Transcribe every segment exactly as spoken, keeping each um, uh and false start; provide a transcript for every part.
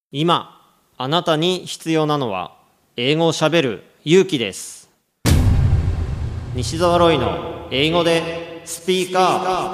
今あなたに必要なのは英語をしゃべる勇気です。西澤ロイの英語でスピーカー。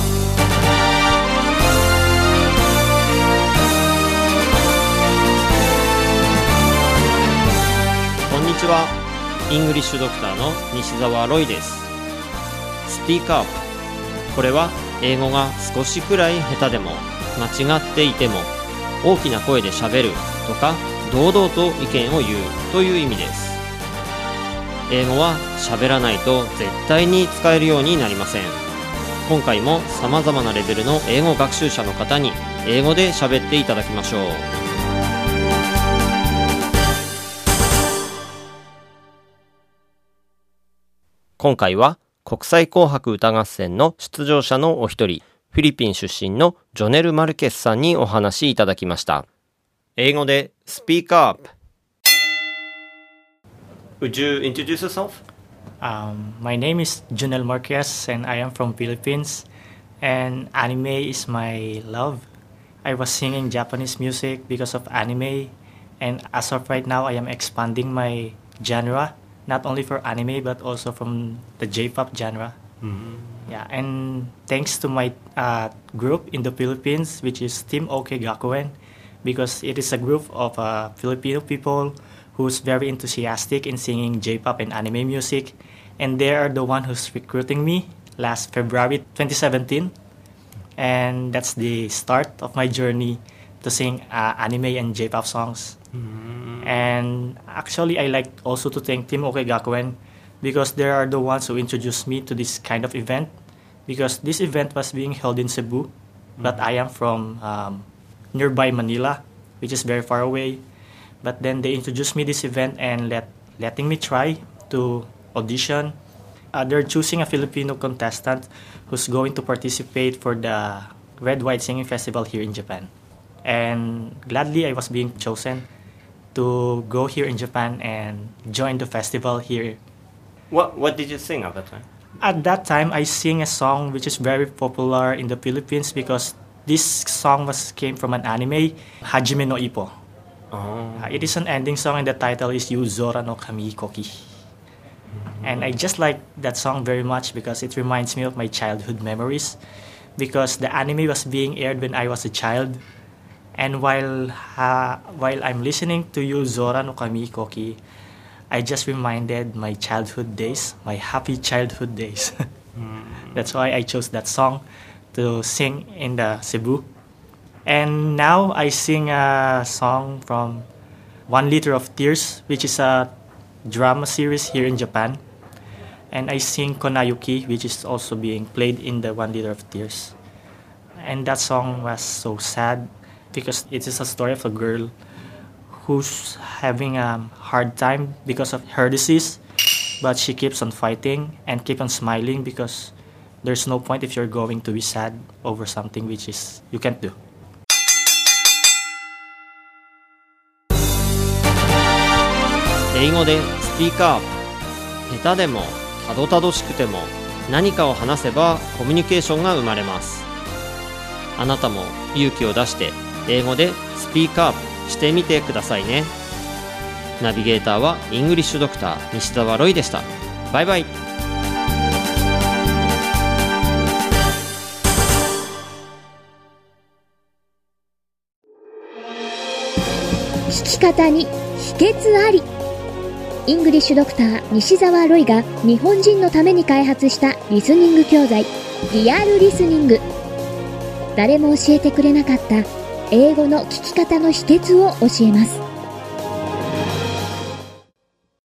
こんにちは。イングリッシュドクターの西澤ロイです。スピーカー。これは英語が少しくらい下手でも間違っていても大きな声でしゃべるとか堂々と意見を言うという意味です。英語はしゃべらないと絶対に使えるようになりません。今回も様々なレベルの英語学習者の方に英語でしゃべっていただきましょう。今回は国際紅白歌合戦の出場者のお一人、フィリピン出身のジョネル・マルケスさんにお話いただきました。英語で Speak Up. Would you introduce yourself? Um, my name is Jonel Marquez and I am from Philippines, and anime is my love. I was singing Japanese music because of anime, and as of right now I am expanding my genre, not only for anime but also from the J-pop genre. Mm-hmm. Yeah, and thanks to my uh, group in the Philippines, which is Team OK Gakuen, because it is a group of uh, Filipino people who's very enthusiastic in singing J-pop and anime music, and they are the one who's recruiting me last February twenty seventeen, and that's the start of my journey to sing uh, anime and J-pop songs. Mm-hmm. And actually, I like also to thank Team OK Gakuen, because they are the ones who introduced me to this kind of event, because this event was being held in Cebu, mm-hmm. but I am from um, nearby Manila, which is very far away. But then they introduced me this event and let letting me try to audition. Uh, they're choosing a Filipino contestant who's going to participate for the Red White Singing Festival here in Japan. And gladly I was being chosen to go here in Japan and join the festival here. What What did you sing at that time? At that time, I sing a song which is very popular in the Philippines because this song was came from an anime, Hajime no Ippo. Oh. Uh, it is an ending song and the title is Yu Zora no Kami Koki. Mm-hmm. And I just like that song very much because it reminds me of my childhood memories, because the anime was being aired when I was a child. And while uh, while I'm listening to Yu Zora no Kami Koki, I just reminded my childhood days, my happy childhood days. mm. That's why I chose that song to sing in the Cebu. And now I sing a song from One Liter of Tears, which is a drama series here in Japan. And I sing Konayuki, which is also being played in the One Liter of Tears. And that song was so sad because it is a story of a girl who's having a hard time because of her disease, but she keeps on fighting and keep on smiling because there's no point if you're going to be sad over something which is you can't do. 英語でスピーカー。下手でもたどたどしくても何かを話せばコミュニケーションが生まれます。あなたも勇気を出して英語でスピーカーしてみてくださいね。ナビゲーターはイングリッシュドクター西澤ロイでした。バイバイ。 聞き方に秘訣あり。イングリッシュドクター西澤ロイが日本人のために開発したリスニング教材リアルリスニング。誰も教えてくれなかった英語の聞き方の秘訣を教えます。